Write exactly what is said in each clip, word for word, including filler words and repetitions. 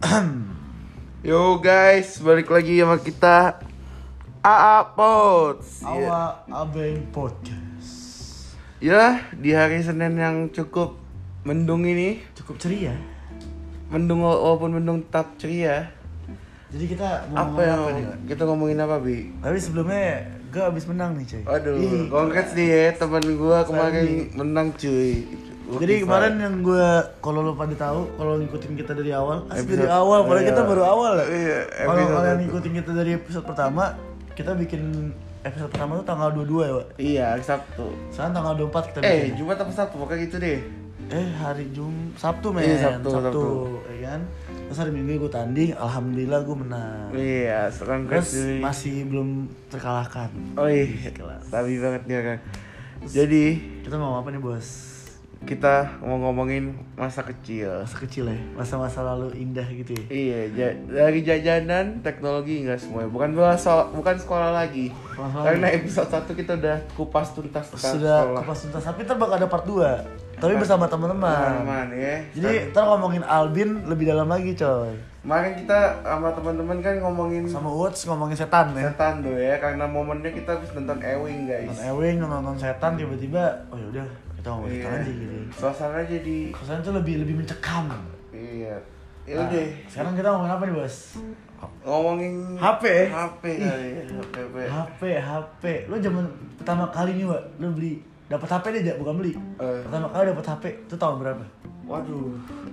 Yo guys, balik lagi sama kita A A Pods. Awa Abeng Podcast. Ya, di hari Senin yang cukup mendung ini, Cukup ceria. mendung walaupun mendung tetap ceria. Jadi kita mau Apa ngomong yang apa nih, Pak? kita ngomongin apa, Bi? Tapi sebelumnya gue abis menang nih, cuy. Aduh, Ih, congrats nih ya teman gua kemarin Sandi. menang cuy. Jadi kemarin yang gue, kalau lo pada tahu, kalau ngikutin kita dari awal, asli Episode- dari awal, padahal iya. kita baru awal ya. Iya, Kalau episode kalian satu. ngikutin kita dari episode pertama, kita bikin episode pertama tuh tanggal dua puluh dua ya, Pak. Iya, hari Sabtu. Sekarang tanggal dua puluh empat kita Eh, bikin. Jumat apa Sabtu? Pokoknya gitu deh. Eh, hari Jum Sabtu men, Iya, Sabtu, Sabtu. ya kan. Terus hari Minggu gue tanding, alhamdulillah gue menang. Iya, sekarang Terus cuy. masih belum terkalahkan. Oh iya, Kelas. sabi banget dia kan. Jadi Kita mau apa nih, Bos? kita mau ngomongin masa kecil. Masa kecil ya, masa-masa lalu indah gitu ya. Iya, ja- dari jajanan teknologi enggak semuanya. Bukan so- bukan sekolah lagi. Sekolah Karena lagi. episode satu kita udah kupas tuntas tentang Sudah sekolah. kupas tuntas, tapi ntar bakal ada part dua. Tapi bersama teman-teman. Teman-teman ya. Jadi ntar ngomongin Albin lebih dalam lagi, coy. Kemarin kita sama teman-teman kan ngomongin Sama Woods ngomongin setan ya. setan tuh ya, karena momennya kita habis nonton Ewing guys. Nonton Ewing, nonton setan, tiba-tiba oh yaudah kita ngomongin setan Iya. aja gitu. Suasana jadi Kesan tuh lebih lebih mencekam. iya. Ya Nah, udah. sekarang kita ngomongin apa nih, Bos? Ngomongin H P. H P kali ya, H P. H P, H P. Lu zaman pertama kali nih, Wak, lu beli dapat H P deh, Jak, bukan beli. Eh. Pertama kali dapat H P itu tahun berapa? Waduh,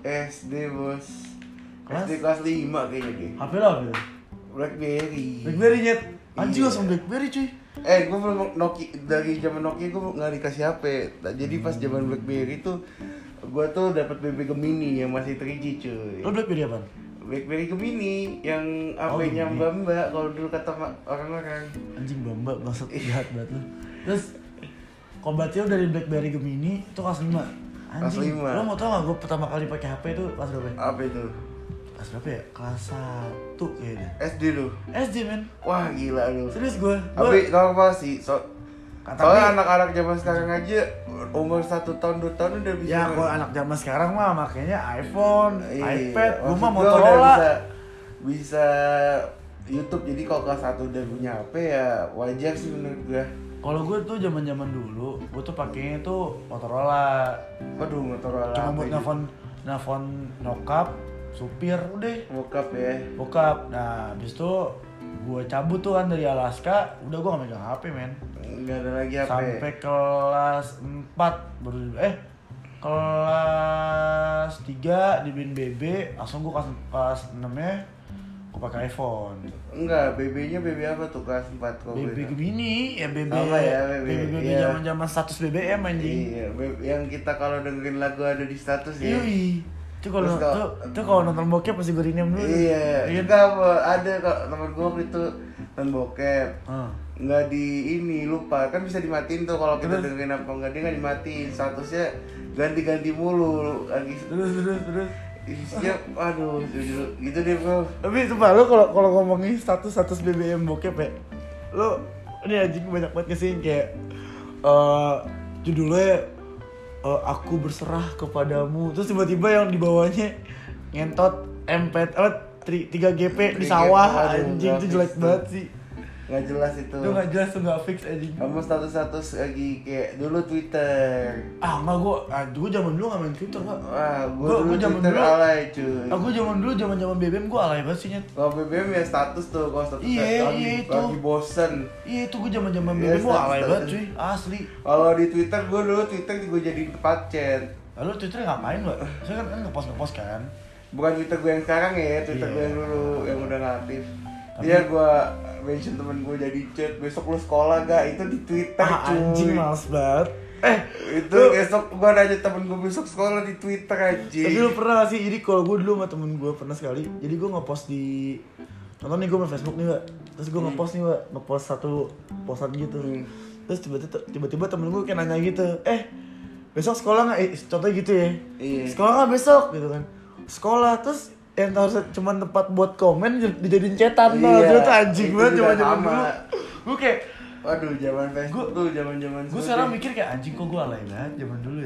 S D bos. Kelas? S D kelas lima kayaknya deh. H P lo apa itu? Blackberry. BlackBerry nyet. Anjing Iya. langsung BlackBerry, cuy. Eh, gue belum Nokia dari zaman Nokia gue nggak dikasih H P. Nah, jadi pas zaman BlackBerry tuh gue tuh dapat B B Gemini yang masih tiga G cuy. Lo BlackBerry apaan? BlackBerry Gemini yang Oh, H P-nya Gemini. Mbak Mbak kalau dulu kata ma- orang-orang. Anjing bamba bangsat jahat banget lu. Terus kalau berarti lo dari BlackBerry Gemini itu kelas lima. Kelas Anjing. lima. Lo mau tau gak gue pertama kali pakai H P itu kelas berapa? ya? Apa itu? Kelas berapa ya? Kelas satu kayaknya. S D lu. S D men. Wah gila lu. Serius gue. Tapi normal sih. So, Kata soalnya Bi- anak-anak zaman sekarang aja umur satu tahun dua tahun udah bisa. Ya kalau anak zaman sekarang mah makanya iPhone, Iya, iPad, gue mah maksud gua udah Motorola. bisa, bisa YouTube. Jadi kalau kelas satu udah punya H P ya wajar sih menurut gua. Kalau gue tuh zaman-zaman dulu, gue tuh pakainya tuh Motorola. Waduh, Motorola Cuma apa buat ini? nelfon, nelfon nyokap, supir, udah. Bokap ya. Bokap. Nah, habis itu gue cabut tuh kan dari Alaska, udah gue gak megang H P men. Enggak ada lagi H P. Sampai kelas empat baru eh kelas tiga dibeliin B B, langsung gue kelas kelas enam nya gue pakai iPhone. Enggak, B B-nya B B apa tuh kelas empat kok? B B Gemini, ya B B Sama ya, B B. B B Iya. zaman-zaman status B B M anjing. Iya, B B yang kita kalau dengerin lagu ada di status ya. Yoi. Itu kalau Terus kalau- tuh, tuh kalau nonton bokep pasti gue rename dulu. Iya, Iya. enggak apa, ada kok temen gue waktu itu nonton bokep. Ah. Nggak di ini lupa kan bisa dimatiin tuh kalau kita Terus? dengerin apa enggak, dia nggak dimatiin, statusnya ganti-ganti mulu lagi Terus terus terus. isinya aduh gitu, gitu deh bro. Tapi sumpah lo kalau kalau ngomongin status-status B B M bokep ya, lo ini anjing banyak banget kesini kayak eh judulnya eh, aku berserah kepadamu, terus tiba-tiba yang di bawahnya ngentot M P apa tiga G P di sawah, Aduh, anjing itu grafis jelek tuh. banget sih. Nggak jelas itu. Itu nggak jelas tuh, nggak fix anjing. Kamu status-status lagi kayak dulu Twitter. Ah nggak gue, ah gue zaman dulu nggak main Twitter pak. Wah, gue Gua- dulu gua zaman Twitter dulu- alay cuy. Aku zaman dulu zaman zaman B B M gue alay banget sih nyet. Kalau B B M ya status tuh, kalau status Iya, lagi, iya itu. lagi bosen. Iya itu gue zaman zaman B B Iya, M gue alay status- banget cuy, asli. Kalau di Twitter gue dulu Twitter gue jadiin tempat chat. Lalu Twitter ngapain mbak? Saya kan kan ngepost ngepost kan. Bukan Twitter gue yang sekarang ya, Twitter Iya. gue yang dulu yang udah nggak aktif. Tapi- Dia gue mention temen gue jadi chat, besok lu sekolah gak? Itu di Twitter Ah cuy. anjing males banget. Eh Itu lu- besok gue nanya temen gue besok sekolah di Twitter anjing. Tapi lu pernah gak sih? Jadi kalau gue dulu sama temen gue pernah sekali. Jadi gue ngepost di nonton nih gue main Facebook nih mbak. Terus gue ngepost nih mbak, ngepost satu postan gitu. Hmm. Terus tiba-tiba tiba-tiba temen gue kayak nanya gitu, eh besok sekolah nggak? Eh, contohnya gitu ya. Iya. Sekolah nggak besok gitu kan? Sekolah terus yang harusnya cuma tempat buat komen dijadiin cetan. Nah, Iya, itu tuh anjing itu banget juga zaman-zaman sama. dulu. Gue kayak Waduh, zaman Facebook tuh zaman-zaman gue sekarang mikir kayak anjing kok gue alay banget zaman dulu ya.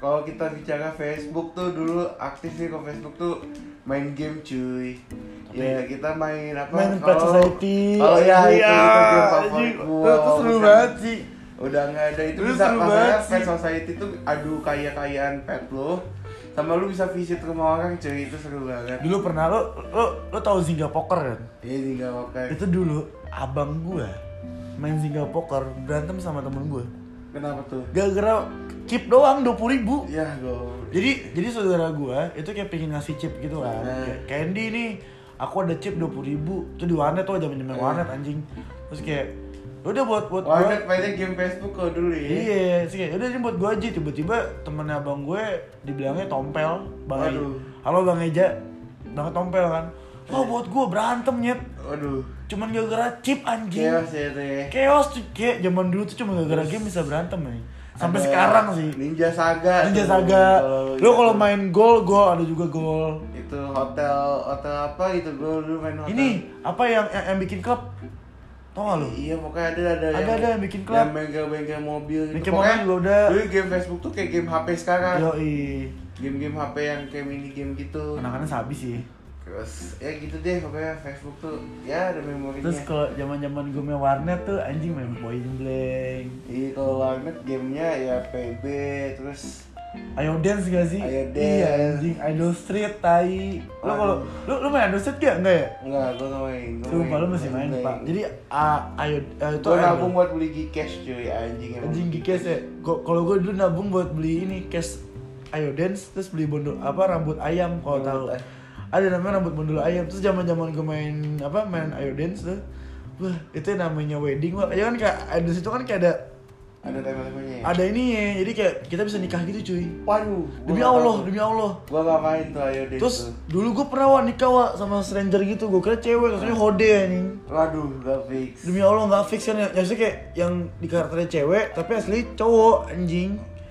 kalau kita bicara Facebook tuh dulu aktif sih kalau Facebook tuh main game cuy. Tapi ya kita main apa? Main Pet Society. Oh iya, itu, iya, itu game favorit gua. Itu seru banget sih. Udah nggak ada itu, Itu bisa seru maksudnya banget Pet sih. Society tuh adu kaya-kayaan pet lo. Sama lu bisa visit rumah orang cuy, itu seru banget. Dulu pernah lo lo lo tahu Zynga Poker kan? Iya sih nggak pakai. Itu dulu abang gua main Zynga Poker berantem sama temen gua. Kenapa tuh? Gara-gara chip doang dua puluh ribu. Ya gue. Jadi jadi saudara gua itu kayak pengen ngasih chip gitu kan. Nah. Kayak Candy nih, aku ada chip dua puluh ribu. Itu di warnet tuh zaman-zaman warnet anjing. Terus kayak udah buat buat gua. Warnet mainnya game Facebook kok dulu ya. Iya, sih kayak udah ini buat gua aja. Tiba-tiba temennya abang gue dibilangnya Tompel, Bang Eja. Waduh. Halo Bang Eja. Banget Tompel kan. Oh buat gua berantem nyet. Waduh. Cuman gara-gara chip anjing. Chaos ya teh. Chaos tuh kayak zaman dulu tuh cuma gara-gara game bisa berantem nih. Sampai Ada sekarang sih. Ninja Saga. Ninja tuh. Saga. Kalau Lu kalau itu- main gol, gol ada juga gol. itu hotel hotel apa gitu gue dulu main hotel. Ini apa yang yang, yang bikin klub? Tau gak lu? Iya pokoknya ada ada Ada, ada yang bikin klub. yang bengkel-bengkel mobil gitu. Bikin Pokoknya mobil juga udah. dulu game Facebook tuh kayak game H P sekarang. Yoi. Game-game H P yang kayak mini game gitu. Anak-anak sabi sih. Terus ya gitu deh pokoknya Facebook tuh ya ada memorinya. Terus kalau zaman-zaman gue main warnet tuh anjing main Point Blank. Iya kalau warnet gamenya ya P B terus Ayo dance gak sih? Ayo Dance. Iya anjing, Idol Street, tai. Lu kalau lu lu main Idol Street gak? Enggak ya? enggak gue nggak main. Gua Sumpah lu masih main, Blank. Pak. Jadi ah, ayo ah, itu Gue Idol. nabung buat beli Gcash cuy anjing emang. Anjing Gcash ya. Kok kalau gue dulu nabung buat beli ini cash Ayo Dance terus beli bondol apa rambut ayam kalau Rambut tahu. ay- Ada namanya rambut bondol ayam. Terus zaman-zaman gue main apa main Ayo Dance tuh. Wah, itu namanya wedding, Wak. Ya kan kayak Ayo Dance itu kan kayak ada Ada tema-temanya ya? ada ini ya. Jadi kayak kita bisa nikah gitu, cuy. Waduh. Demi gua nggak Allah, tahu. demi Allah. Gua gak main tuh ayo deh Terus tuh. dulu gue pernah Wak, nikah Wak, sama stranger gitu. Gue kira cewek, ternyata hode anjing. Waduh, gak fix. Demi Allah nggak fix kan ya. Maksudnya kayak yang di karakternya cewek tapi asli cowok anjing.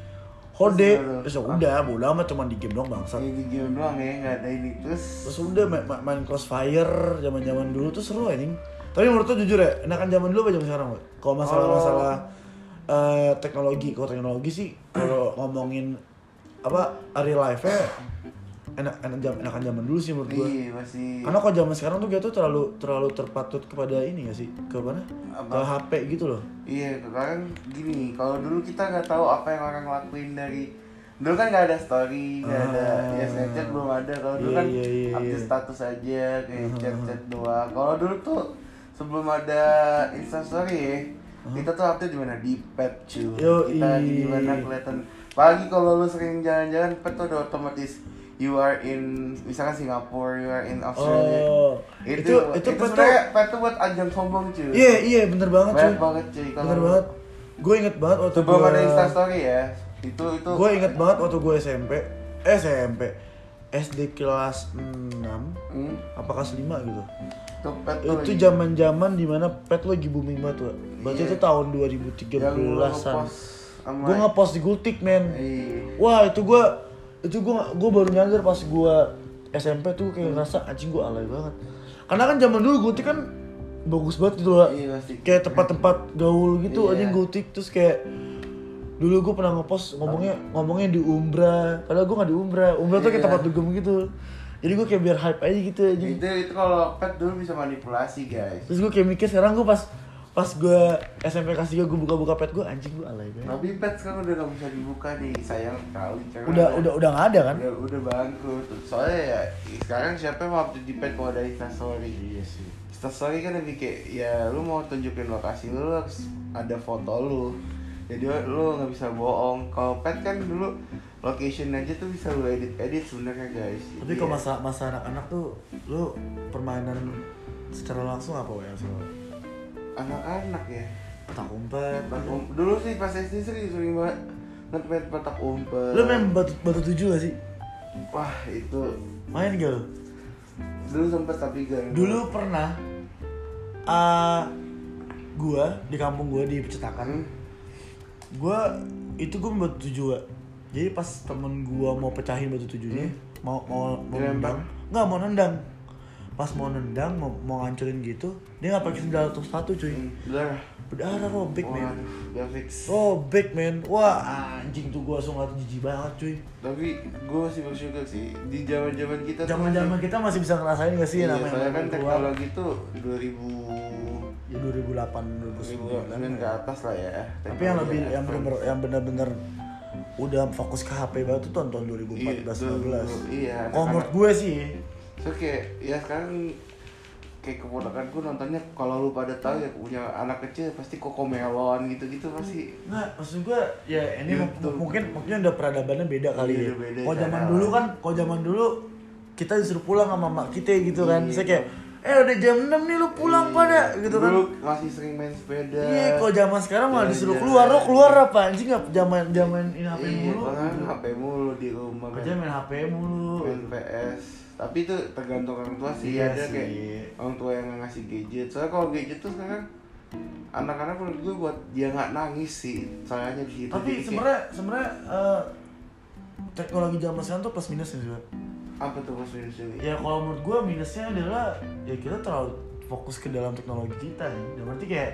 Hode. Terus Terus ya udah, bodo amat cuma di game doang bangsat. Ini game doang ya, gak ada ini terus. Terus udah main, main, main Crossfire zaman-zaman dulu tuh seru anjing. Tapi menurut tuh jujur ya, enakan zaman dulu apa zaman sekarang, Wak? Kalau masalah-masalah eh, teknologi, kalau teknologi sih kalau ngomongin apa real life-nya enak enak jam enakan zaman dulu sih menurut gue. Iya masih. Karena kalau zaman sekarang tuh dia tuh terlalu terlalu terpatut kepada ini gak sih? Ke mana? Apa? Ke H P gitu loh. Iya, sekarang gini, kalau dulu kita nggak tahu apa yang orang lakuin dari dulu kan nggak ada story, nggak ada Ah. ya Snapchat belum ada. Kalau dulu Iya, kan iya, iya, update iya. status aja kayak chat-chat doang. Kalau dulu tuh sebelum ada Instastory ya, kita tuh update di mana di pet cuy. Yoi. Kita lagi di mana kelihatan. Pagi kalau lu sering jalan-jalan, pet tuh udah otomatis you are in misalkan Singapura, you are in Australia. Oh. Itu Itu itu, itu pet tuh. sebenarnya pet tuh buat ajang sombong cuy. Iya, iya bener banget cuy. Banyak banget cuy kalau Bener banget. Gue inget banget waktu sebelum gua, ada Instastory ya. Itu itu gue inget banget waktu gue S M P. Eh, S M P. S D kelas enam Hmm, apa kelas lima gitu. itu pet tuh Itu lagi- zaman-zaman dimana pet lagi booming banget, Wak. Berarti Iya. itu tahun dua ribu tiga yang lu belasan. ngepost sama Gue ngepost di Gultik, men. Iya. Wah, itu gue itu gue gue baru nyadar pas gue S M P tuh kayak ngerasa anjing gue alay banget. Karena kan zaman dulu Gultik kan bagus banget gitu lah. Iya pasti. Kayak tempat-tempat gaul gitu Iya. anjing Gultik. Terus kayak dulu gue pernah ngepost ngomongnya ngomongnya di Umbra. Padahal gue gak di Umbra. Umbra tuh kayak Iya. tempat dugem gitu. Jadi gue kayak biar hype aja gitu anjing. Itu itu kalau pet dulu bisa manipulasi guys. Terus gue kayak mikir sekarang gue pas pas gue S M P kelas tiga gue buka-buka pet gue anjing gue alay banget. Tapi pet sekarang udah gak bisa dibuka nih, sayang sekali. Karena Udah udah udah nggak ada kan? udah udah bangkrut. Soalnya ya sekarang siapa yang mau update di pet kalau ada Instastory? Iya sih. Instastory kan lebih kayak ya lu mau tunjukin lokasi lu, lu harus ada foto lu. Jadi lu nggak bisa bohong. Kalau pet kan dulu location aja tuh bisa lu edit edit sebenarnya guys. Tapi Jadi kalau ya, masa masa anak-anak tuh lu permainan secara langsung apa ya sih? anak-anak ya. Petak umpet. Petak um- dulu sih pas S D sering sering banget nge-pet petak umpet. Lu main batu batu tujuh gak sih? Wah itu Main gak lu? dulu sempet tapi gak. Dulu pernah uh, gua di kampung gua di Pecetakan. Hmm. Gua itu gua main batu tujuh, Wak. Jadi pas temen gua mau pecahin batu tujuhnya, mau mau mau Dilempar? nendang, nggak mau nendang. pas mau nendang mau, mau ngancurin gitu dia nggak pakai sendal atau sepatu cuy. Hmm, Udah. Berdarah robek men. Waduh, udah fix. Robek men. Wah anjing tuh gua langsung ngeliat jijik banget cuy. Tapi gue masih bersyukur sih di zaman-zaman kita tuh Zaman-zaman masih- kita masih bisa ngerasain gak sih iya, namanya soalnya kan main keluar. teknologi tuh dua ribu Ya dua ribu delapan dua ribu sembilan ke atas lah ya. Tapi yang lebih yang advance. bener yang bener-bener udah fokus ke H P banget tuh tahun tahun dua ribu empat belas lima belas. Iya. Kalau menurut anak-anak- gue sih So kayak ya sekarang kayak keponakanku nontonnya kalau lu pada tahu ya punya anak kecil pasti Cocomelon gitu-gitu pasti. nggak maksud gue ya ini m- YouTube. mungkin mungkin udah peradabannya beda kali Iya, ya. udah beda Kalau zaman cara. dulu kan, kalau zaman dulu kita disuruh pulang sama mak kita gitu kan. Iya. Saya kayak eh udah jam enam nih lu pulang Iya, pada gitu kan. Dulu masih sering main sepeda. Iya, kalau zaman sekarang malah disuruh Jalan-jalan. keluar, lo keluar apa anjing nggak zaman zaman ini H P Iya, mulu. kan H P mulu di rumah kan. Kerja main H P mulu. Main P S. Tapi itu tergantung orang tua sih. Iya Ada sih. kayak orang tua yang ngasih gadget. Soalnya kalau gadget tuh sekarang anak-anak menurut gue buat dia nggak nangis sih. Soalnya di situ. Tapi Jadi kayak- sebenarnya sebenarnya eh, teknologi zaman sekarang tuh plus minusnya juga. apa tuh mas minus ini? Ya kalau menurut gue minusnya adalah ya kita terlalu fokus ke dalam teknologi kita nih. Dan berarti kayak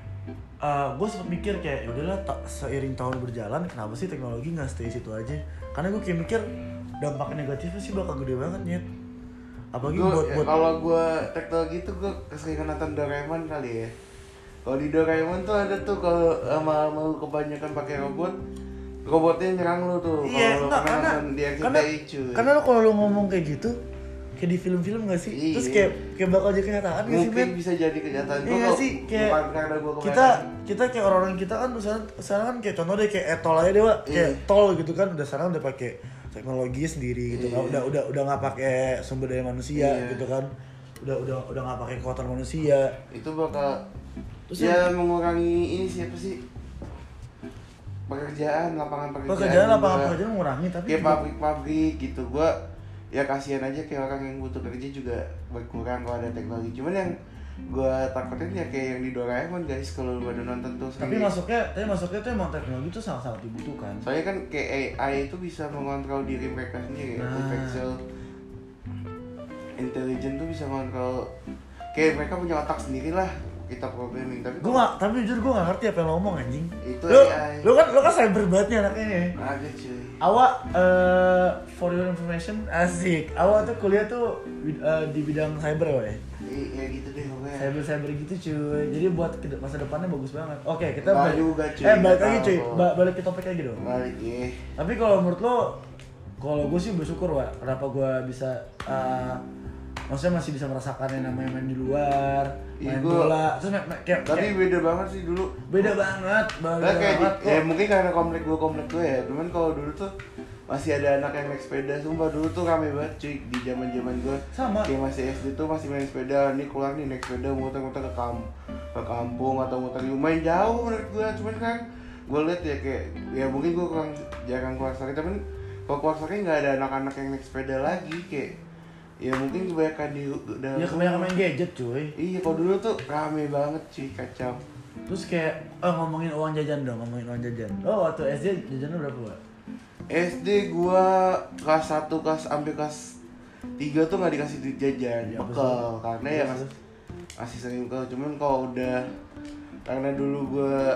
gue sempet mikir kayak ya udahlah ta- seiring tahun berjalan kenapa sih teknologi nggak stay situ aja? Karena gue kayak mikir dampak negatifnya sih bakal gede banget nyet. Apalagi Gua- buat ya, buat kalau gue teknologi tuh gue keseringan nonton Doraemon kali ya. Kalau di Doraemon tuh ada tuh kalau sama mau kebanyakan pakai robot, robotnya nyerang lu tuh. iya Kalau lu enggak pernah karena nonton di R C T I, karena cuy. karena lo kalau lo ngomong kayak gitu kayak di film-film gak sih? Iya. Terus kayak kayak bakal jadi kenyataan gak sih mungkin Ben? bisa jadi kenyataan. Iya Gua nggak kok- sih kayak bukan karena gua kita kebanyakan. kita kayak orang-orang kita kan sekarang sekarang kan kayak contoh deh kayak etol aja deh Wak. Kayak Iya. tol gitu kan udah sekarang udah pakai teknologi sendiri gitu kan. Iya. Udah udah udah nggak pakai sumber daya manusia Iya. gitu kan. Udah udah udah nggak pakai kekuatan manusia. Itu bakal Terus ya mengurangi ini siapa sih? Pekerjaan, lapangan pekerjaan. Pekerjaan juga. lapangan pekerjaan mengurangi tapi Kayak juga- pabrik-pabrik gitu. Gua ya kasihan aja kayak orang yang butuh kerja juga berkurang kalau ada teknologi. Cuman yang gua takutin ya kayak yang di Doraemon guys kalau lu pada nonton tuh. tapi sendiri. masuknya tapi masuknya tuh emang teknologi tuh sangat-sangat dibutuhkan. Soalnya kan kayak A I itu bisa mengontrol diri mereka sendiri ya. Nah. Artificial intelligence tuh bisa mengontrol kayak mereka punya otak sendiri lah kita programming tapi Gue gak, tapi jujur gue gak ngerti apa yang lo ngomong anjing. Itu Lo, A I. lo kan lo kan cyber banget nih anaknya nih. ada cuy. Awak eh, for your information asik. Awak tuh kuliah tuh bid- eh, di bidang cyber ya. Iya gitu deh pokoknya. Cyber cyber gitu cuy. Jadi buat ke- masa depannya bagus banget. Oke kita Nggak balik. juga, cuy. Eh balik lagi Nggak cuy. tahu. Ba- balik ke topik lagi dong. Balik ya. Tapi kalau menurut lo, kalau gue sih bersyukur Wak. Kenapa gue bisa eh, maksudnya masih bisa merasakan yang namanya main di luar, Iya, main gua- bola. Terus main, main- kayak, Tapi kayak beda banget sih dulu. beda banget, beda Nah, kayak banget di, kok. ya mungkin karena komplek gue komplek gue ya. Cuman kalau dulu tuh masih ada anak yang naik sepeda. Sumpah dulu tuh rame banget cuy di zaman zaman gue. Sama. Kayak masih S D tuh masih main sepeda. Nih keluar nih naik sepeda muter-muter ke kamp ke kampung atau muter lumayan jauh menurut gue. Cuman kan gue liat ya kayak ya mungkin gue kurang jarang keluar sore. Tapi kalau keluar sore nggak ada anak-anak yang naik sepeda lagi kayak ya mungkin kebanyakan di dalam Ya kebanyakan main gadget cuy. iya kalau dulu tuh rame banget cuy kacau. Terus kayak oh, ngomongin uang jajan dong, ngomongin uang jajan. Oh waktu S D jajannya berapa Wak? S D gua kelas satu kelas sampai kelas tiga tuh nggak dikasih duit jajan, Ya, bekal betul. karena ya Terus, masih, masih sering bekal. Cuman kalau udah karena dulu gua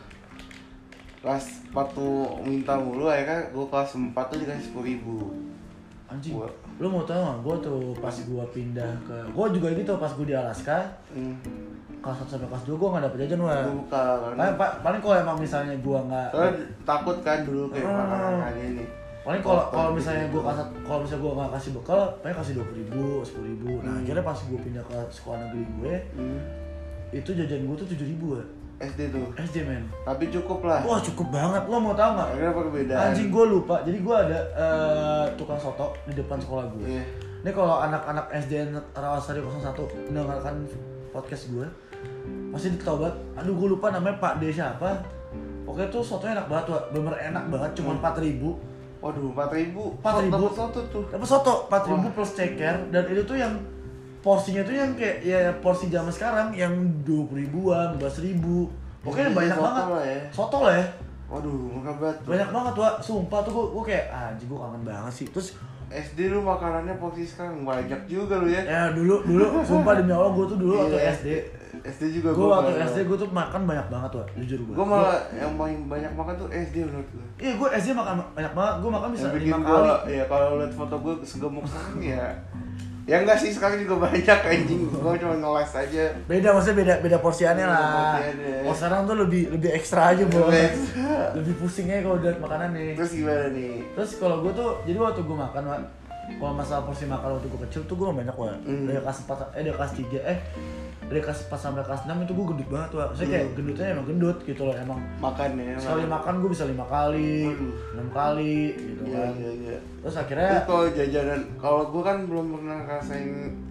kelas empat tuh minta mulu ya kan gua kelas empat tuh dikasih sepuluh ribu. Anjing. Gua- Lu mau tau gak? Gue tuh pas gue pindah ke, gue juga gitu pas gue di Alaska Hmm. kelas satu sampai kelas dua gue gak dapet jajan Wak. Gua bekal karena Paling, pa- paling kalau emang misalnya gue gak, soalnya takut kan dulu kayak Hmm. makanan ini. paling kalau Kotor kalau gitu. misalnya gue kasih kalau misalnya gue gak kasih bekal, paling kasih dua puluh ribu, sepuluh ribu. Nah Hmm. akhirnya pas gue pindah ke sekolah negeri gue, Hmm. itu jajan gue tuh tujuh ribu Wak. S D tuh. S D men. Tapi cukup lah. Wah cukup banget, lo mau tau gak? Akhirnya perbedaan. Anjing gue lupa, jadi gue ada eh, tukang soto di depan sekolah gue. Iya. Ini kalau anak-anak S D N Rawasari nol satu mendengarkan podcast gue, masih tau banget, aduh gue lupa namanya Pak D siapa. Pokoknya tuh sotonya enak banget, Wak. Bener enak banget, cuma empat ribu. Waduh, empat ribu. empat ribu. Dapat soto tuh. Dapat soto empat ribu Wah. plus ceker, dan itu tuh yang porsinya tuh yang kayak ya porsi zaman sekarang yang dua puluh ribuan, dua belas ribu. Pokoknya Iya, banyak soto banget. lah ya. Soto lah ya. Waduh, murah banget. tuh. Banyak banget Wak, sumpah tuh gue, gue kayak anjing gue kangen banget sih. Terus S D lu makanannya porsi sekarang banyak juga lu ya. Ya dulu dulu sumpah demi Allah gue tuh dulu waktu Iya, S D. S D juga Gue gua waktu banyak. S D gue tuh makan banyak banget tuh, jujur gue. Gue malah yang paling banyak makan tuh S D menurut gue. Iya gue S D makan banyak banget, gue makan bisa Yang lima bikin kali. gua, ya kalau liat foto gue segemuk sekarang ya. Ya enggak sih, sekarang juga banyak anjing. Gue cuma ngeles aja. Beda maksudnya beda beda porsiannya Beda lah. porsiannya. Oh sekarang tuh lebih lebih ekstra aja bro. Lebih ekstra. Lebih pusing aja kalau udah makanan nih. Terus gimana nih? Terus kalau gue tuh, jadi waktu gue makan, Wak, kalau masalah porsi makan waktu gue kecil tuh gue banyak, Wak. Hmm. Dari kelas empat, eh dari kelas tiga, eh dari kelas empat sampai kelas enam itu gue gendut banget, Wak. Maksudnya kayak Hmm. gendutnya emang gendut gitu loh, emang. Makan ya. Sekali makan gue bisa lima kali, Waduh. enam kali gitu Iya kan. iya iya. Terus akhirnya, Terus kalau jajanan, kalau gue kan belum pernah ngerasain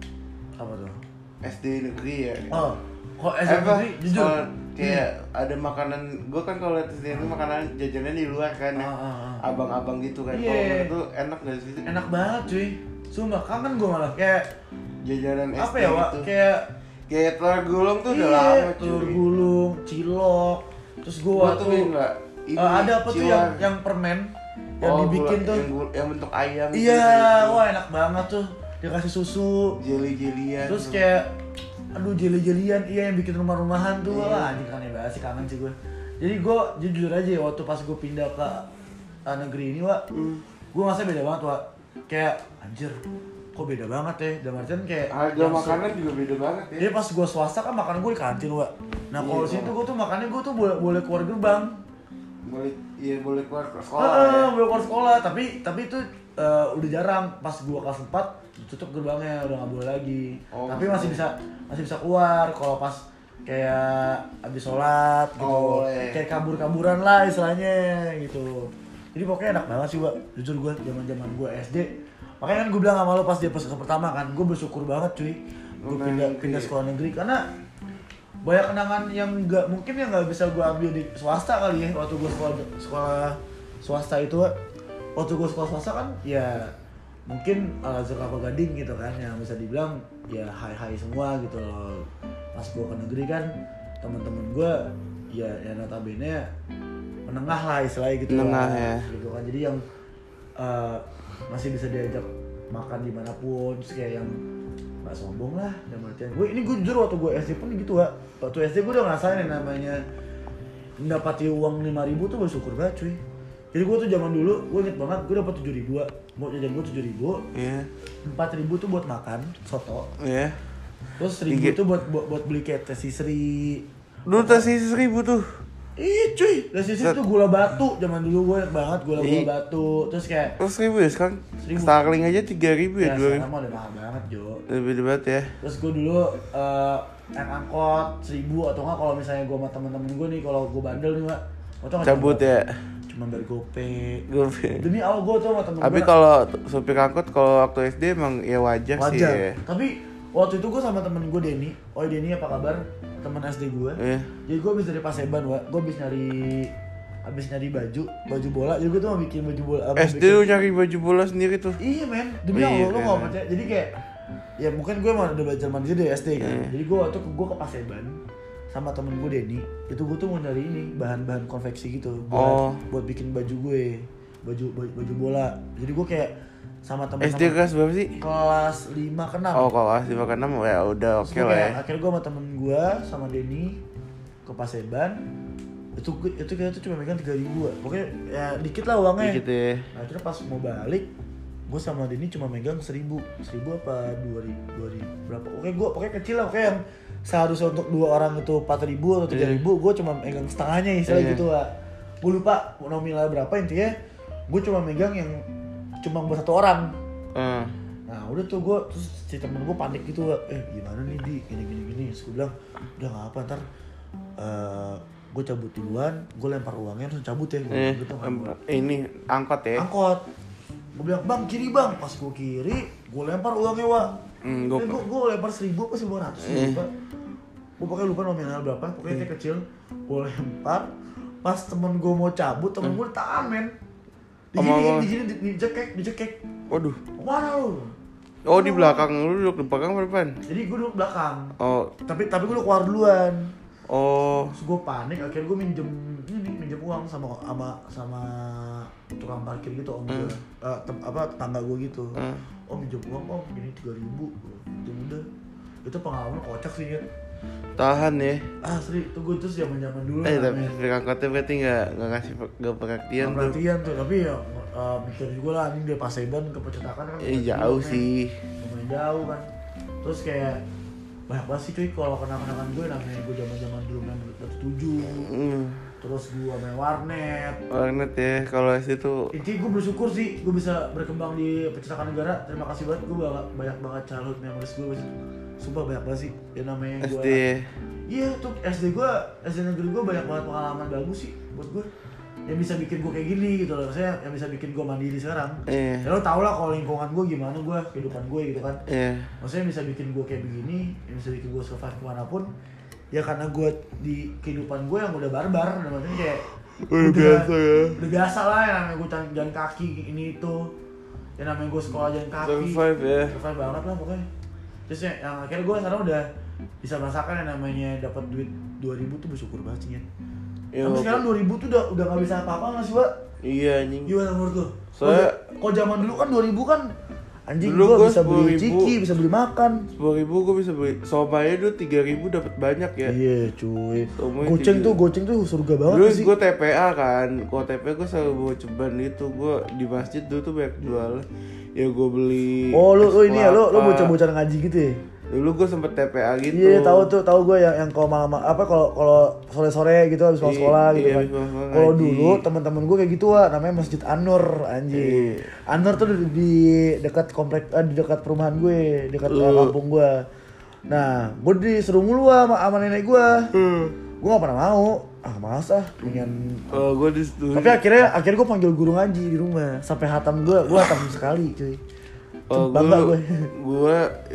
apa tuh? S D negeri ya. Oh, kok S D Eh, apa? negeri, jujur. Soal kayak ada makanan, gue kan kalau lihat S D negeri makanan jajanan di luar kan ya. Ah, ah, ah. Abang-abang gitu kan. Iya. Kalau menurut tuh enak gak sih? Enak banget cuy. Sumpah kangen gue malah kayak Jajanan S D apa ya, Wak? gitu. Kayak Kayak telur gulung tuh udah iya, lama telur cuy. gulung, cilok. Terus gue Gua waktu tuh enggak. Eh, ada apa tuh yang yang permen yang Oh, dibikin gula- tuh? yang, gula- yang bentuk ayam. Iya, gitu. wah enak banget tuh. Dikasih susu. Jeli-jelian. Terus kayak aduh jeli-jelian iya yang bikin rumah-rumahan tuh. Iya. Wah, anjing kangen banget sih, kangen sih gue. Jadi gue jujur aja ya, waktu pas gue pindah ke uh, negeri ini, Wak, Hmm. gue ngerasa beda banget, Wak. Kayak anjir, kok beda banget ya. Dan artian kayak Harga yang se- makanan juga beda banget ya. Jadi pas gue swasta kan makanan gue di kantin, Wak. Nah kalau Iya, di situ Wak. gue tuh makannya gue tuh boleh boleh keluar gerbang. Boleh, iya boleh keluar ke sekolah. Heeh, ya. boleh keluar sekolah, tapi tapi itu eh, udah jarang. Pas gue kelas empat tutup gerbangnya, udah nggak boleh lagi. Oh, tapi maksudnya- masih bisa masih bisa keluar kalau pas kayak habis sholat gitu. Oh, boleh. Kayak kabur-kaburan lah istilahnya gitu. Jadi pokoknya enak banget sih, Wak. Jujur gue zaman-zaman gue S D. Makanya kan gue bilang sama lo pas dia pas pertama kan, gue bersyukur banget cuy. Gue Negeri. pindah pindah sekolah negeri karena banyak kenangan yang nggak mungkin yang nggak bisa gue ambil di swasta kali ya. Waktu gue sekolah sekolah swasta itu, Wak. Waktu gue sekolah swasta kan ya mungkin Al Azhar Kelapa Gading gitu kan, yang bisa dibilang ya high-high semua gitu loh. Pas gue ke negeri kan teman-teman gue ya ya notabene menengah lah istilahnya gitu Menengah, lah, ya. gitu kan. Jadi yang eh, masih bisa diajak makan dimanapun, terus kayak yang nggak sombong lah dan artian gue ini gue jujur waktu gue S D pun gitu, Wak. Waktu S D gue udah ngerasain yang namanya mendapati uang lima ribu tuh bersyukur banget cuy. Jadi gue tuh zaman dulu gue inget banget gue dapat tujuh ribu, mau jajan gue tujuh ribu, Iya. empat ribu tuh buat makan soto, Iya. terus seribu Tiga- tuh buat buat, buat beli kayak tesi seri. Dulu tasih seribu tuh. Ih cuy, tesi seri tuh gula batu zaman dulu gue inget banget gula gula Ih. batu, terus kayak Terus seribu ya sekarang? Seribu. Starling aja tiga ribu ya, ya dua ribu. sekarang mah udah mahal banget Jo. Lebih debat ya. Terus gue dulu eh naik angkot seribu atau enggak kalau misalnya gue sama temen-temen gue nih kalau gue bandel nih, Wak. Gua tau nggak Cabut cuma- ya. Cuma dari GoPay. Gue. Demi Allah gue tuh sama temen Tapi gue kalau supir angkot kalau waktu S D emang ya wajar, sih wajar. ya. Tapi waktu itu gue sama temen gue Denny. Oh Denny apa kabar? Temen S D gue. Iya. Jadi gue habis dari Paseban, Wak. Gue habis nyari habis nyari baju, baju bola. Jadi gue tuh mau bikin baju bola. apa, S D bikin- lu nyari baju bola sendiri tuh. Iya men, demi Iya, Allah lu keren. nggak percaya. Jadi kayak ya mungkin gue mau udah belajar mandiri dari S D kan. Iya. Jadi gue waktu ke gue ke Paseban sama temen gue Denny, itu gue tuh mau nyari ini bahan-bahan konveksi gitu buat Oh. buat bikin baju gue, baju baju, baju bola. Jadi gue kayak sama S D temen-temen kelas berapa sih? kelas lima ke enam. Oh, kalau kelas lima ke enam ya udah oke Terus gua lah ya. kayak, akhirnya gue sama temen gue sama Denny ke Paseban. Itu itu kita tuh cuma megang tiga ribu, pokoknya ya dikit lah uangnya. Dikit ya. Nah akhirnya pas mau balik, gue sama Denny cuma megang seribu, seribu apa dua ribu, dua ribu berapa? Oke gue pokoknya kecil lah, pokoknya yang seharusnya untuk dua orang itu empat ribu atau tiga ribu, gue cuma megang setengahnya istilah Iya. gitu lah. Gue lupa nominal berapa, intinya gue cuma megang yang cuma buat satu orang. Eh. Nah udah tuh gue, terus si temen gue panik gitu, eh gimana nih Di, gini gini gini. Terus gue bilang, udah nggak apa ntar, uh, gue cabut duluan, gue lempar uangnya terus cabut ya. Gue Eh, gitu, em, ini angkot ya. angkot. Gue bilang bang kiri bang, pas gue kiri, gue lempar uangnya Wak. Hmm, Gue gua- gue lempar seribu apa seribu ratus Eh. lupa. Gue pokoknya lupa nominal berapa, pokoknya Eh. dia kecil. Gue lempar, pas temen gue mau cabut, temen gue ditahan men. Sama Diginiin, apa? diginiin, di- dicekek, dicekek. Waduh. Mana lu? Oh, di belakang lu duduk di belakang apa depan? Jadi gue duduk belakang. Oh, Tapi tapi gue udah keluar duluan. oh. Terus gue panik, akhirnya gue minjem ini minjem minjem uang sama sama sama tukang parkir gitu om gue, Hmm. uh, tem, apa tetangga gue gitu. Hmm. Om minjem uang om gini tiga ribu, itu udah. Itu pengalaman kocak sih ya. Tahan ya. Asli, itu gue terus zaman zaman dulu. Eh tapi namanya. supir angkotnya berarti nggak nggak ngasih per- nggak perhatian Nggak tuh. perhatian tuh, tapi ya uh, mikir juga lah anjing dari Paseban ke Percetakan kan. Eh jauh men. sih. Lumayan jauh kan. Terus kayak banyak banget sih cuy kalau kenang-kenangan gue namanya gue zaman-zaman dulu main Dota tujuh. Hmm. Terus gue main warnet. Warnet ya kalau S D tuh. Intinya gue bersyukur sih gue bisa berkembang di Percetakan Negara. Terima kasih banget, gue banyak, banyak banget childhood memories gue. Sumpah banyak banget sih. Ya namanya S gue. D. Iya tuh S D gue, S D negeri gue banyak banget pengalaman bagus sih buat gue. Yang bisa bikin gue kayak gini gitu loh. Maksudnya yang bisa bikin gue mandiri sekarang. Iya. Ya lo tau lah kalau lingkungan gue gimana gue, kehidupan gue gitu kan. Iya. Maksudnya yang bisa bikin gue kayak begini, yang bisa bikin gue survive kemanapun. Ya karena gue di kehidupan gue yang udah barbar, udah maksudnya kayak Udah biasa ya. Udah biasa lah yang namanya gue jalan kaki ini itu. Yang namanya gue sekolah jalan kaki. Survive ya. Survive banget lah pokoknya. Terus ya, yang akhirnya gue sekarang udah bisa merasakan yang namanya dapat duit dua ribu tuh bersyukur banget sih ya. Iya, Tapi sekarang dua ribu tuh udah udah gak bisa apa-apa gak sih, Pak? Iya anjing. Gimana menurut lu? Soalnya- Kalau zaman dulu kan dua ribu kan anjing Dulu gua gua bisa beli sepuluh ribu. ciki, bisa beli makan. Sepuluh ribu gue bisa beli. Somai dulu tiga ribu dapat banyak ya. Iya, cuy. Somai Goceng tiga. tuh, goceng tuh surga banget Dulu sih. gue T P A kan, kalau T P A gue selalu bawa ceban gitu. Gue di masjid dulu tuh banyak jual. Ya gue beli. Oh, lu lu es ini ya, lu lu kelapa. bocah-bocah ngaji gitu ya? Dulu gue sempet T P A gitu. Iya, tahu tuh, tahu gue yang yang kalau malam apa kalau kalau sore-sore gitu habis pulang Iya, sekolah gitu iya, kan. habis pulang sekolah Kalau ngaji. dulu teman-teman gue kayak gitu wah, namanya Masjid An-Nur anjing. Iya. An-Nur tuh di, di dekat komplek eh, di dekat perumahan gue, dekat Uh. kampung gue. Nah, gue disuruh mulu sama, sama nenek gue. Hmm. Gue gak pernah mau. Ah, males ah, mendingan. Oh, gue di dulu. Tapi akhirnya akhirnya gue panggil guru ngaji di rumah sampai hatam gue, gue hatam sekali cuy. Oh, Bangga gue, gue. gue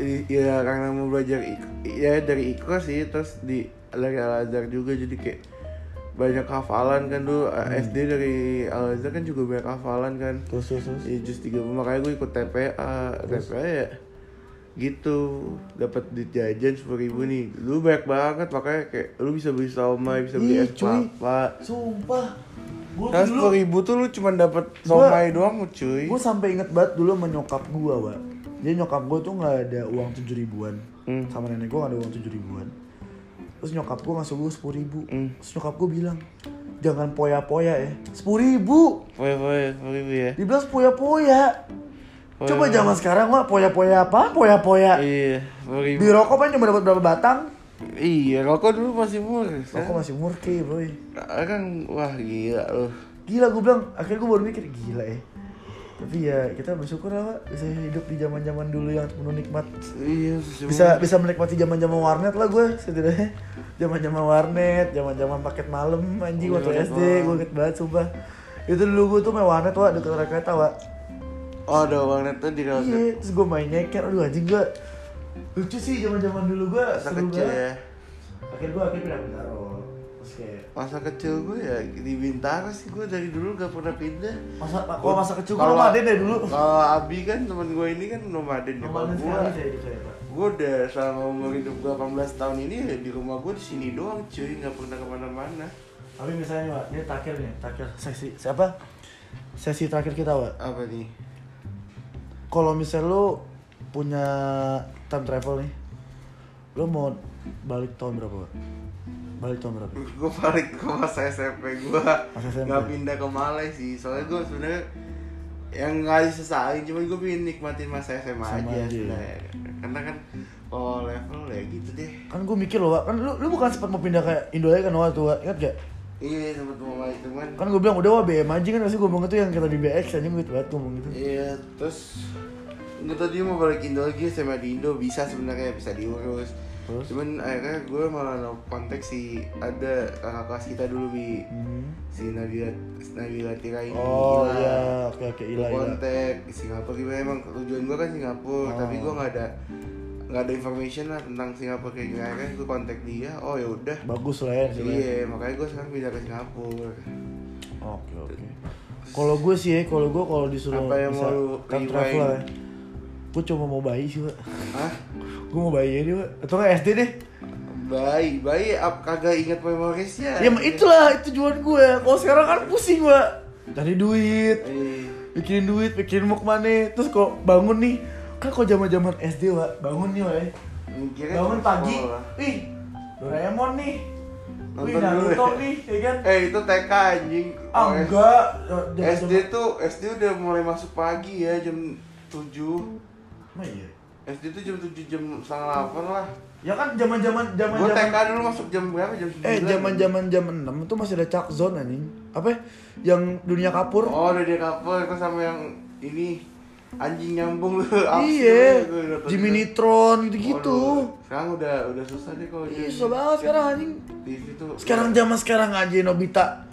ya karena mau belajar ik- ya dari ikhlas sih, terus di dari Al Azhar juga jadi kayak banyak hafalan kan dulu. Hmm. S D dari Al Azhar kan juga banyak hafalan kan. Terus terus terus. Ya just tiga makanya gue ikut T P A, T P A ya gitu dapat duit jajan sepuluh ribu nih. Lu banyak banget makanya kayak lu bisa beli somai, bisa beli Ih, es cuy. kelapa. Sumpah. Gue Kan sepuluh ribu tuh lu cuma dapat somai doang cuy. Gue sampai inget banget dulu sama nyokap gue, Wak. Jadi nyokap gue tuh nggak ada uang tujuh ribuan, Hmm. sama nenek gue nggak ada uang tujuh ribuan. Terus nyokap gue ngasih gue sepuluh ribu. Hmm. Terus nyokap gue bilang, jangan poya-poya ya. Sepuluh ribu. Poya-poya sepuluh ribu ya. Dibilang poya-poya. Poya. Coba zaman sekarang Wak, poya-poya apa? Poya-poya. Iya, sepuluh ribu. Di rokok kan cuma dapat berapa batang? Iya, rokok dulu masih murah. Kan? Rokok masih murki, boy. Kan wah gila loh. Gila gue bilang, akhirnya gue baru mikir gila ya. Tapi ya kita bersyukur lah Pak, bisa hidup di zaman-zaman dulu yang penuh nikmat. Iya, Bisa bisa menikmati zaman-zaman warnet lah gue setidaknya. Zaman-zaman warnet, zaman-zaman paket malam anjing Oh, waktu iya, S D, Bang. gue inget banget sumpah. Itu dulu gue tuh main warnet Wak, deket rel kereta Wak. Oh, ada warnet tuh di Kalsel. Iya, terus gue main nyeker, aduh anjing gue lucu sih zaman-zaman dulu gue Masa seru kecil banget. ya. Akhirnya gue akhirnya pindah Bintaro. Terus kayak Masa kecil gue ya di Bintaro sih, gue dari dulu gak pernah pindah. masa kalau masa kecil gue Kalau- nomaden deh dulu. Kalau Abi kan teman gue ini kan nomaden ya. Kalau Nomaden gue, sekali saya gitu ya Pak. gue udah selama umur hidup gue delapan belas tahun ini ya di rumah gue di sini doang cuy, nggak pernah kemana-mana. Tapi misalnya Wak, ini terakhir nih, terakhir sesi siapa? Sesi terakhir kita Wak. Apa nih? Kalau misalnya lo punya time travel nih, lo mau balik tahun berapa Wak? Balik tahun berapa? Gue balik ke masa S M P gue, Masa S M P? nggak pindah ke Malai sih. Soalnya gue sebenarnya yang nggak disesalin, cuma gue pengen nikmatin masa S M A Sama aja, aja. sebenarnya. Karena kan oh level ya gitu deh. Kan gue mikir loh Wak, kan lu, lu bukan sempat mau pindah ke Indo aja kan waktu Wak, ingat gak? Iya sempet mau balik cuman. Kan gue bilang udah Wak B M aja kan, pasti gue ngomong itu yang kita di B X aja gue banget ngomong gitu. Iya terus nggak tadi mau balik Indo lagi, S M A di Indo bisa sebenarnya bisa diurus. Terus? Cuman akhirnya gue malah no kontak si ada kakak kelas kita dulu bi Hmm. si Nabila Nabila Tira ini. Oh Ila. iya, oke oke Gue Ila Ila. kontak di Singapura gimana, emang tujuan gue kan Singapura, Oh. tapi gue nggak ada nggak ada information lah tentang Singapura kayak gimana. Kan gue kontak dia, oh ya udah. Bagus lah ya. hasilnya. Iya makanya gue sekarang pindah ke Singapura. Oke oke. Kalau gue sih ya, kalau gue kalau disuruh Apa yang bisa mau lu time rewind? travel ya, gue cuma mau bayi sih Wak. Hah? Gue mau bayi aja Wak. Atau nggak S D deh. Bayi, bayi ap kagak inget memorisnya. Ya itulah itu tujuan gue. Kalau sekarang kan pusing gue, cari duit, Eh, bikin duit, bikin mau kemana. Terus kok bangun nih, kan kok zaman zaman S D wa, bangun nih wa, mikirnya bangun cuma pagi, sekolah. wih Doraemon nih, wih Nonton dulu Naruto ya. nih, ya kan? Eh itu T K anjing. Ah Oh, enggak, S D tuh S D udah mulai masuk pagi ya jam tujuh. Emang iya? S D tuh jam tujuh jam setengah delapan lah. Ya kan zaman zaman zaman Gue T K zaman dulu masuk jam berapa? Jam sembilan. eh zaman zaman jam enam itu masih ada Chuck Zone anjing. Apa ya? Yang dunia kapur? Oh udah dia couple itu sama yang ini anjing nyambung lu. Iya, Jimmy Neutron gitu-gitu. Sekarang udah udah susah deh kalau Iya, jadi susah banget sekarang anjing. T V tuh. Sekarang zaman sekarang aja Nobita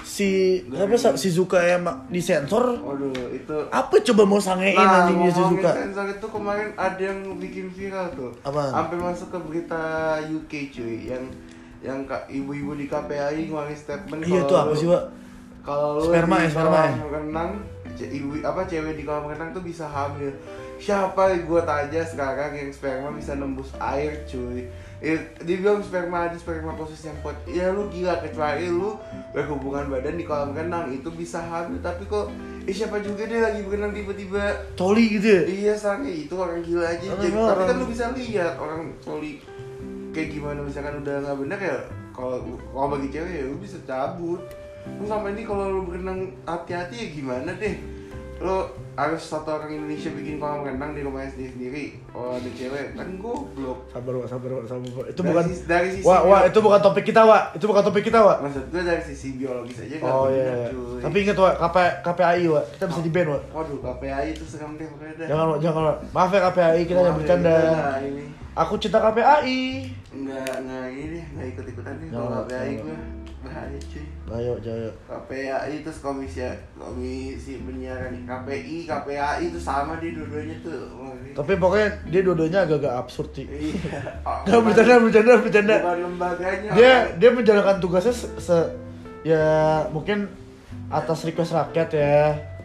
si apa Sa- Shizuka ya mak disensor. Waduh itu. Apa coba mau sangein Nah, anjing dia ngomongin Shizuka? sensor itu kemarin ada yang bikin viral tuh. Apaan? Sampai masuk ke berita U K cuy, yang yang ka- ibu-ibu di K P I ngeluarin statement. Iya kalau tuh apa lu- sih, Pak? Kalau lu Sperma di ya, sperma ya? kolam renang, ce- ibu apa cewek di kolam renang tuh bisa hamil. Siapa gua tanya sekarang yang sperma bisa nembus air cuy. Eh, dia bilang sperma ada sperma khusus yang kuat. Ya lu gila, kecuali lu berhubungan badan di kolam renang itu bisa hamil, tapi kok eh siapa juga deh lagi berenang tiba-tiba Coli gitu ya? iya sange itu orang gila aja. Orang- Jadi, orang- tapi kan lu bisa lihat orang coli kayak gimana, misalkan udah nggak benar ya kalau kalau bagi cewek ya lu bisa cabut. Lu sama ini kalau lu berenang hati-hati ya gimana deh. Lu harus satu orang Indonesia bikin kolam renang di rumahnya sendiri sendiri. Kalau ada cewek kan goblok. Sabar, Wak, sabar, Wak, sabar. Wak. Itu Dari bukan sisi- dari sisi Wah, wah, bio- itu bukan topik kita, Wak. Itu bukan topik kita, Wak. Maksud gue dari sisi biologis aja nggak Oh bener, iya. cuy. Tapi ingat, Wak, K P K P I, Wak. Kita bisa di-ban, Wak. Waduh, K P I itu seram deh pokoknya dah. Jangan, Wak, jangan, Wak. Maaf ya K P I, kita hanya Maaf ya, bercanda. kita ini Aku cinta K P I. nggak nggak ini deh, nggak ikut ikutan deh Jangan, kalau K P I jangan. gue bahaya cuy. Ayo, ayo. K P I itu komisi komisi penyiaran, K P I K P A I itu sama dia dua-duanya tuh. Wah, ini- Tapi pokoknya dia dua-duanya agak-agak absurd sih. iya. Oh, Gak bercanda, bercanda, bercanda. bukan lembaganya. Dia dia menjalankan tugasnya se, se- ya mungkin atas request rakyat ya.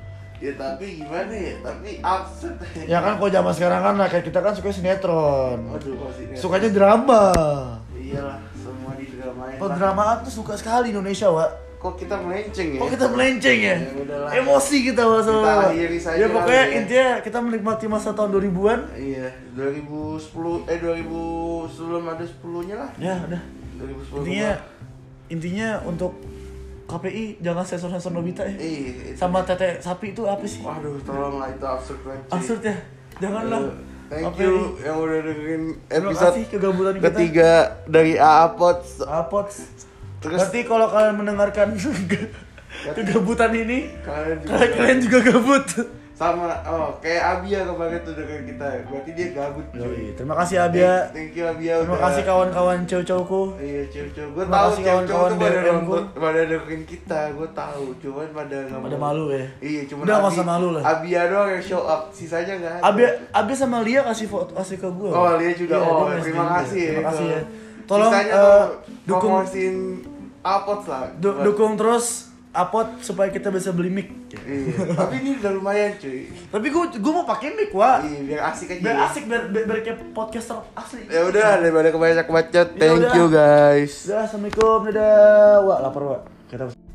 Ya tapi gimana ya? Tapi absurd. Ya kan kalau zaman sekarang kan rakyat kita kan suka sinetron. Waduh, kok sih. Sukanya drama. Iyalah, semua di dramain. lah. Pendramaan tuh suka sekali Indonesia, Wak. Kok kita melenceng ya? Kok kita melenceng ya? Ya udahlah. Emosi kita Wak sama. Kita akhiri saja Ya pokoknya kali ya. intinya kita menikmati masa tahun dua ribuan. Iya, dua ribu sepuluh eh dua ribu sebelum ada sepuluh-nya lah. Ya udah. dua ribu sepuluh. Intinya intinya untuk K P I jangan sensor-sensor Nobita ya. Eh, itu- Sama tete sapi itu apa sih? Waduh, tolonglah itu absurd banget. cuy. Absurd ya. Janganlah. Eh, Thank K P I. you yang udah dengerin Terima episode kasih kegabutan kita. ketiga dari A A Pods. Apots. Terus Berarti kalau kalian mendengarkan kegabutan ini, kalian juga kalian, kalian juga gabut. sama oh kayak Abia kemarin tuh dengan kita. Berarti dia gabut cuy. Yoi, terima kasih Abia. Thank, thank you Abia. Terima udah- kasih kawan-kawan cowok-cowokku. Iya, cewek-cewek. Gue Terima tahu kasih cewek-cewek kawan-kawan tuh pada D M ku. nonton, pada dengerin kita. Gue tahu, cuman pada nggak Pada mau. malu ya. Iya, cuma Udah, nggak usah malu lah. Abia doang yang show up, sisanya nggak ada. Abia, Abia sama Lia kasih foto kasih ke gue. Oh, Lia juga. Oh, dia terima ngasih kasih ya. Terima kasih ya. Tolong Tolong sisanya eh, tuh dukung promosiin Apods lah. du- dukung terus Apot supaya kita bisa beli mic. Iya, tapi ini udah lumayan cuy. Tapi gue gue mau pakai mic, Wak. Iya, biar asik aja. Biar ya. asik biar biar, biar kayak podcaster asli. Ya udah, daripada kebanyakan bacot. Ya Thank udah. you guys. Udah, assalamualaikum, dadah. Wak, lapar, Wak. Kita